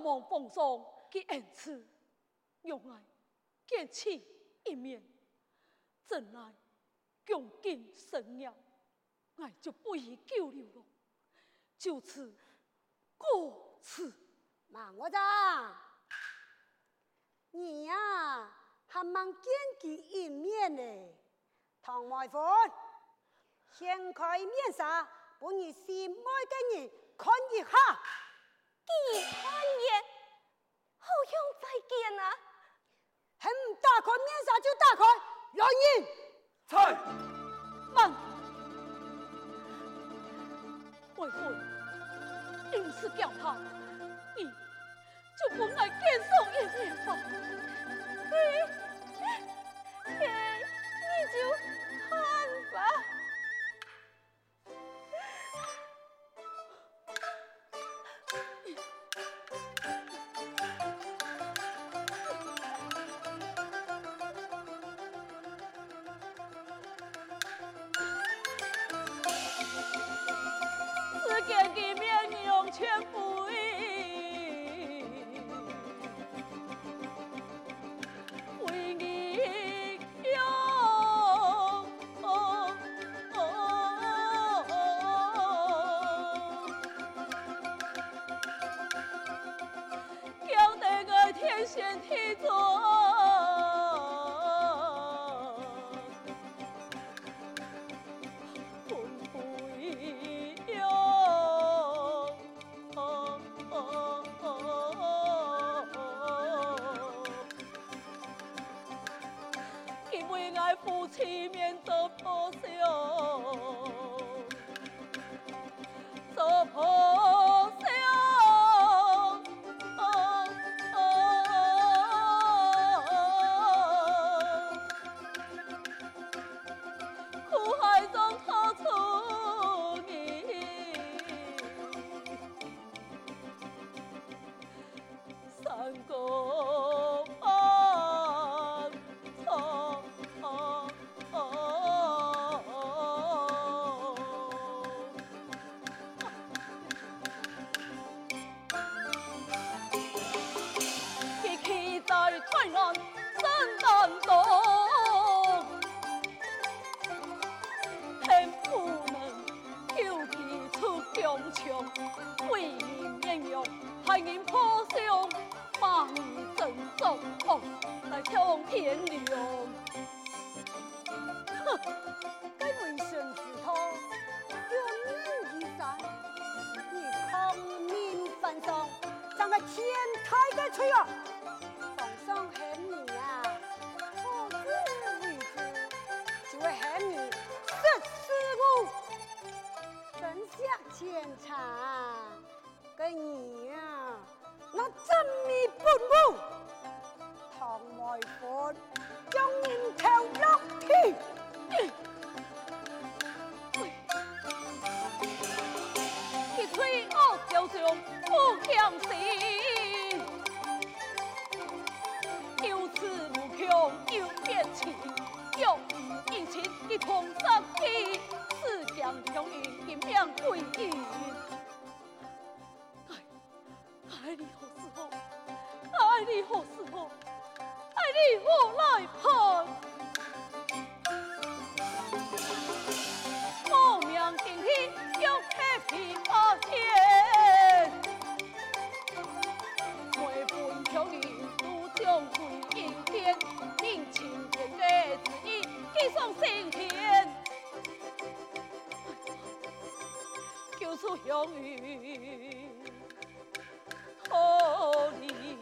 望奉上嘅恩賜，用愛見其一面，真愛共進生涯，愛就不宜久留了，就此過此。 孟我咋？你呀，還蠻見其一面呢。唐外父，掀開面紗，把你心愛的人看一下。 見面，好像再見啊！ 還唔打開面紗就打開，來人！ 在。 慢，外父，因是叫他，你就不愛見上一面吧。 你就看吧。 只見一面用全不依，為你用。叫得個天旋地轉。夫妻面做破相，做破相，苦海中掏出你，三個盼草。台灣生難動，天不能救其出強強，為民免用，害人破相，罵你真重哦，來搶天良。 哼，該為神之托，有命一山，你抗命犯上，怎個天台嘅吹啊！上喊你呀，何之為之？就會喊你1415，真相檢查，跟你呀，那真密本無，唐外父將人頭落地。 一吹惡就將不相信。有恃無恐，有變情，有義情，一同上天，是將強運陰陽歸陰。愛你何時候？愛你何時候？愛你何來盼？我命定天，要開闢八天，每分強運。將歸陰天，命情天的旨意，寄送升天，救出祥雲，托你。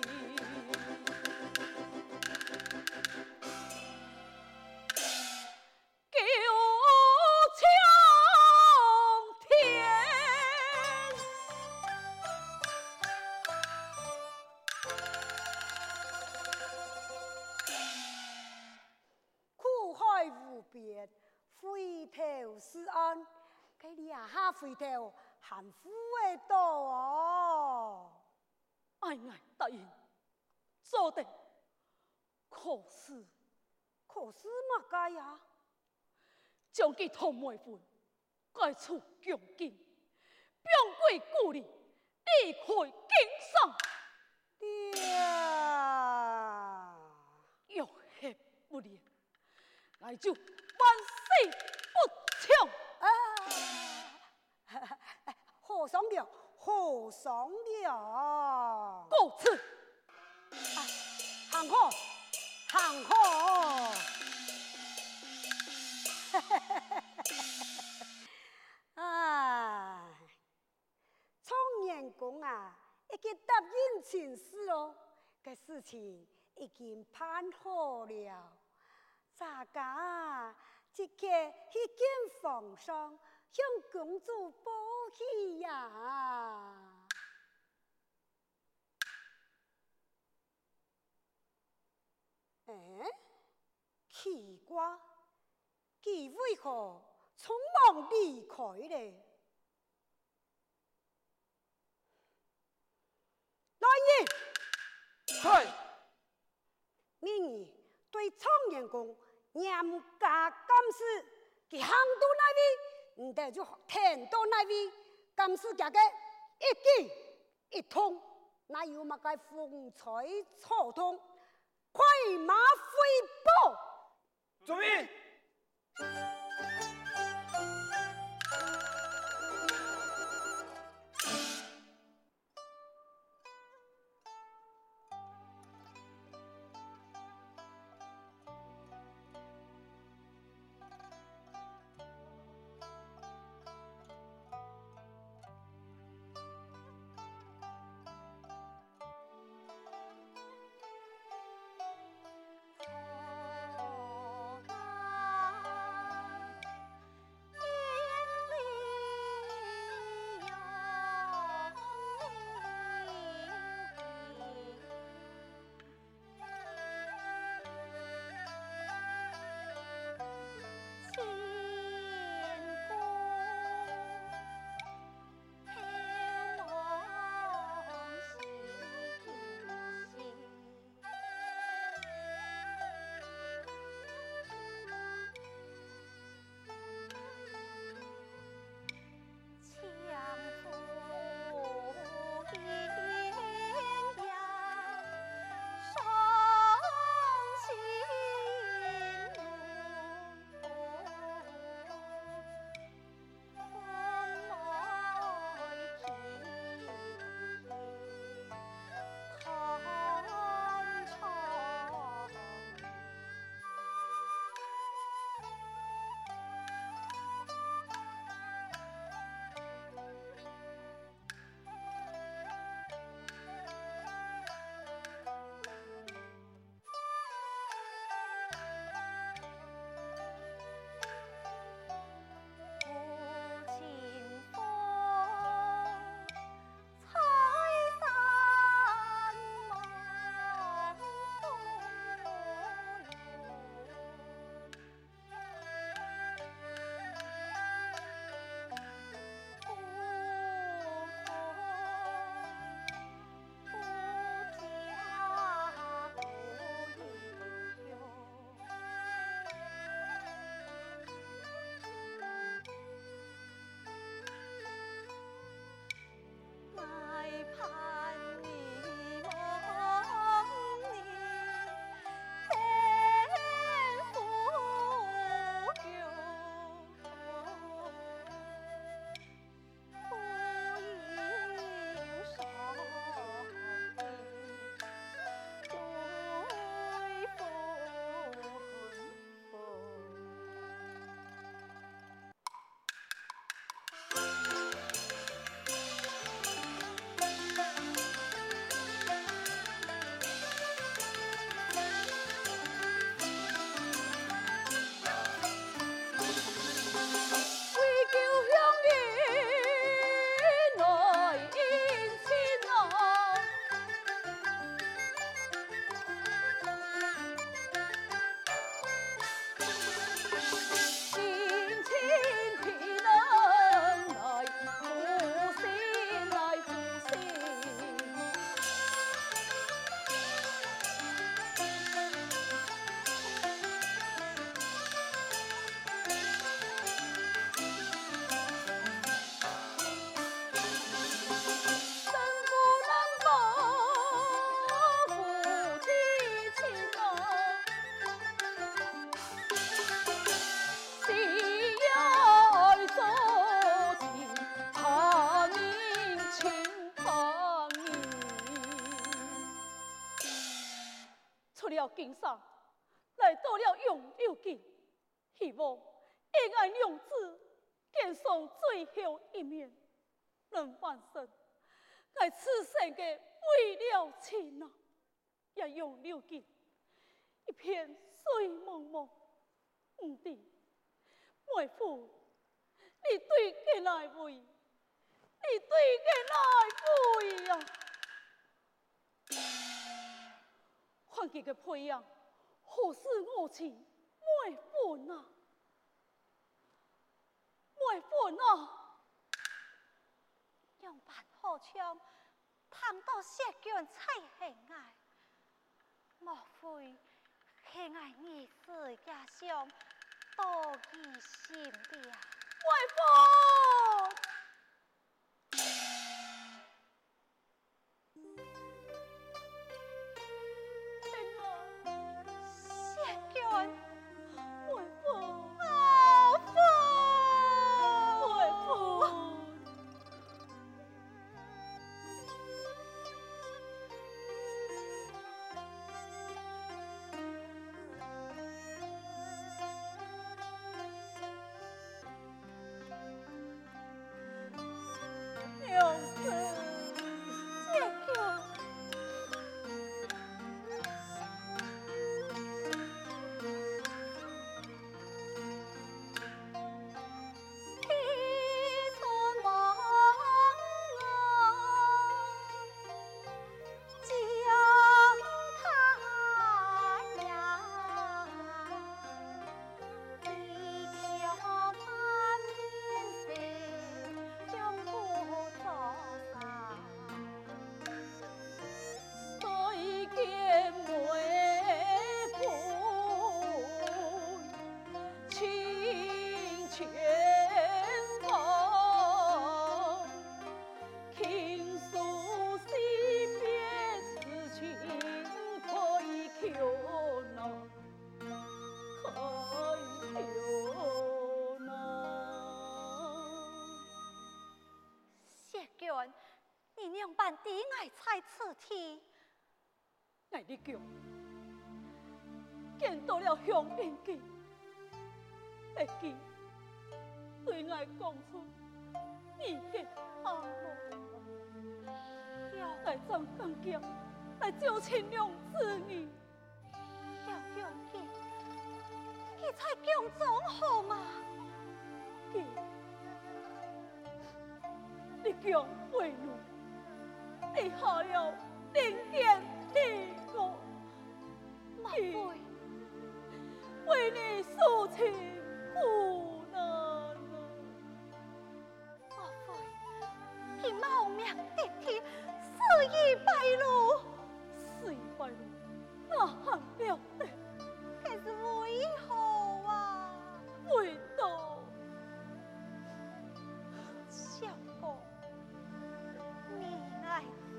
回頭是岸，給你下回頭含糊的多哦。 愛答應，做得。可是嘛該呀？ 將其同妹分，該處強勁，並歸故里，離開經商。 俺就万死不从。 好商量，好商量。 告辞。 行好，行好。哎，苍眼公啊，已經答應前事哦，個事情已經辦好了。大家即刻去見皇上，向公主報喜呀！哎，奇怪，佢為何匆忙離開呢？來人！ 係。 你對蒼眼公嚴加監視，佢行到哪位，唔得就聽到哪位，監視佢嘅一舉一動，哪有乜嘅風吹草動，快馬回報。 遵命。 了金山，來到了永佑境，希望愛愛娘子見上最後一面，能完成我此生的為了情啊！也永佑境一片水茫茫，唔知妹夫，你對佢來為，你對佢來為呀！看佢嘅配樣，何似我情妹夫啊？妹夫啊！ 用辦好槍，談到石卷才係愛，莫非係愛兒子家鄉多疑心的啊？ 妹夫！ 你娘辦的愛才此天， 愛你叫見到了鄉邊記，會記對愛講出你的阿母，來裝剛強，來救親娘子你， 要用記，你才強裝好嗎？ 記，你強為奴。你下了人間天國， 莫非為你訴情苦難啊？ 莫非他冒名頂替，死於白鹿？ 死於白鹿，那還了得？ 可是為何啊？ 為道。 小公，你愛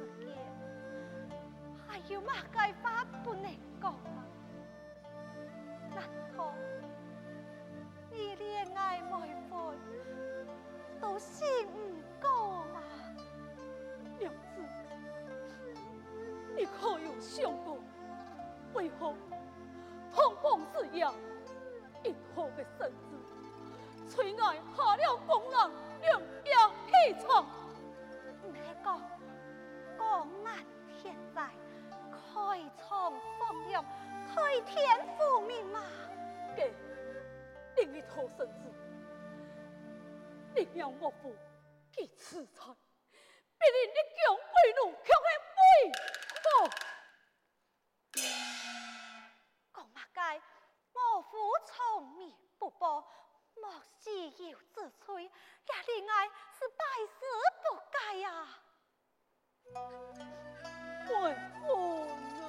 還有嘛解法不能講啊？難道你戀愛妹夫都信唔過嗎？ 娘子，你可有想過，為何同房之夜，一號的身子，催愛下了公人兩樣起床？ 唔係講公人天在。開創放亮，開天復命嘛！ 給另一套身子，另讓我父去此財，必令你強為奴，強係為何？ 講嘛該，我父從滅不報，莫使有自吹，也令愛是百死不該呀！ 為何？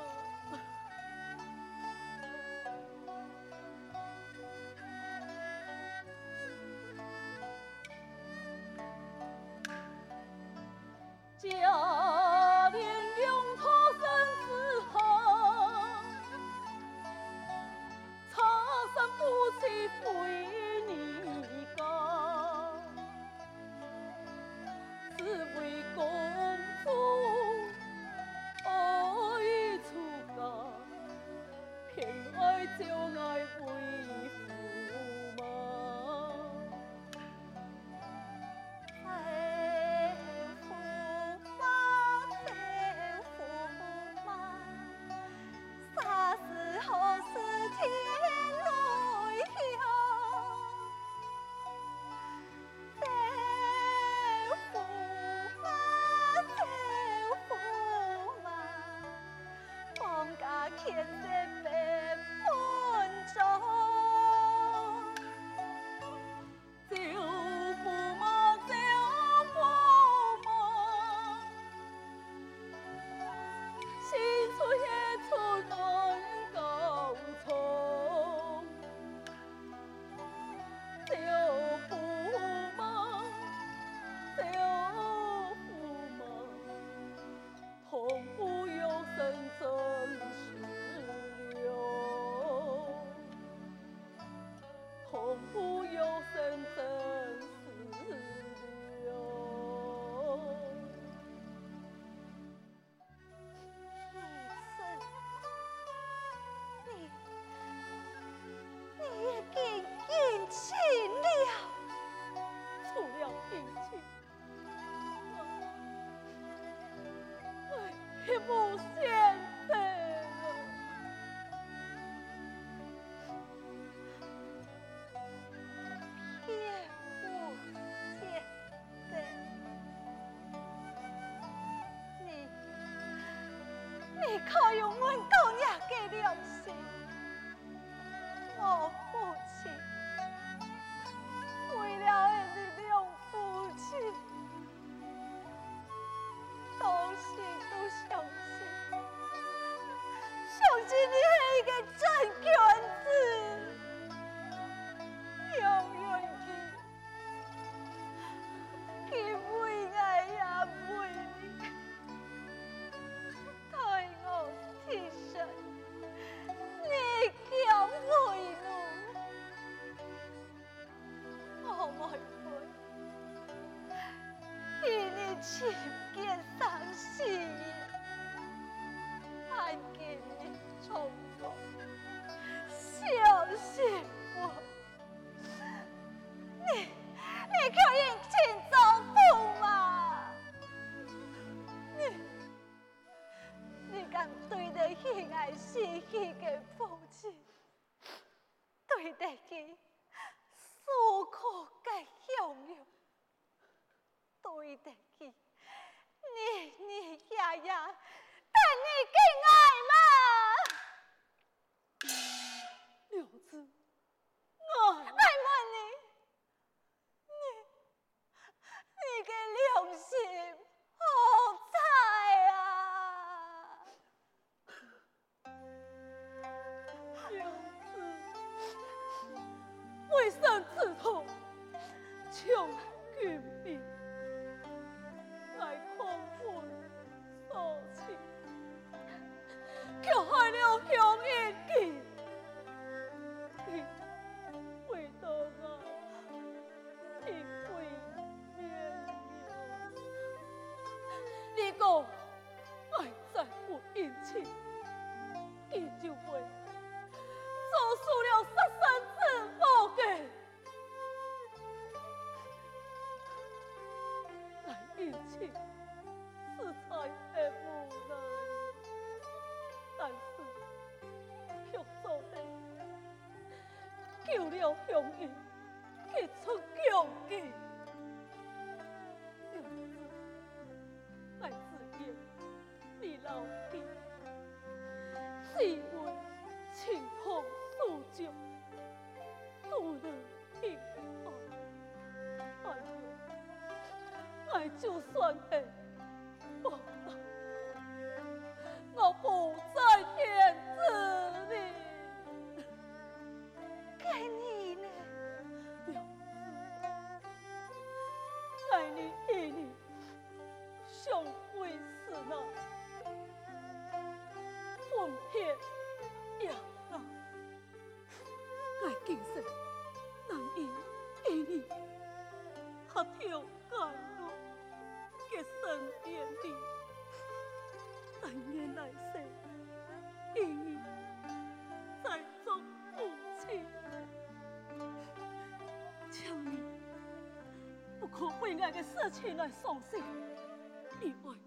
家連用他身之後，茶山不起非你家，只為公主。 良心，我父亲为了你两夫妻，到时都相信你是一个真君子，永遠佢為愛也為你，待我替身，你叫為奴，我愛會，與你親見傷心。看見你重逢，小心我，你可以請丈夫嗎？你敢對得起愛死去的父親，對得起所苦的享有，對得起你爺爺。但你敬愛嗎？ 娘子，愛問你的良心何在啊？ 娘子，為生之痛，求君命，來空魂所情。卻害了鄉音記，記為得我一歸面了。你講愛再不殷勤，記就會做出了殺身之禍嘅。來殷勤，是才的無奈。但是，卻做得救了鄉音，結出強記。娘子，愛自言你老弟，只為情同訴舊，不能平安。哎呦，愛就算係報答。我不再天子你， 給你呢？ 娘子，愛你與你相會是那分別呀那，愛今生能以與你合條甘露結生連理。但願來世，與你再做夫妻。求你不可為愛的事情來傷心，因為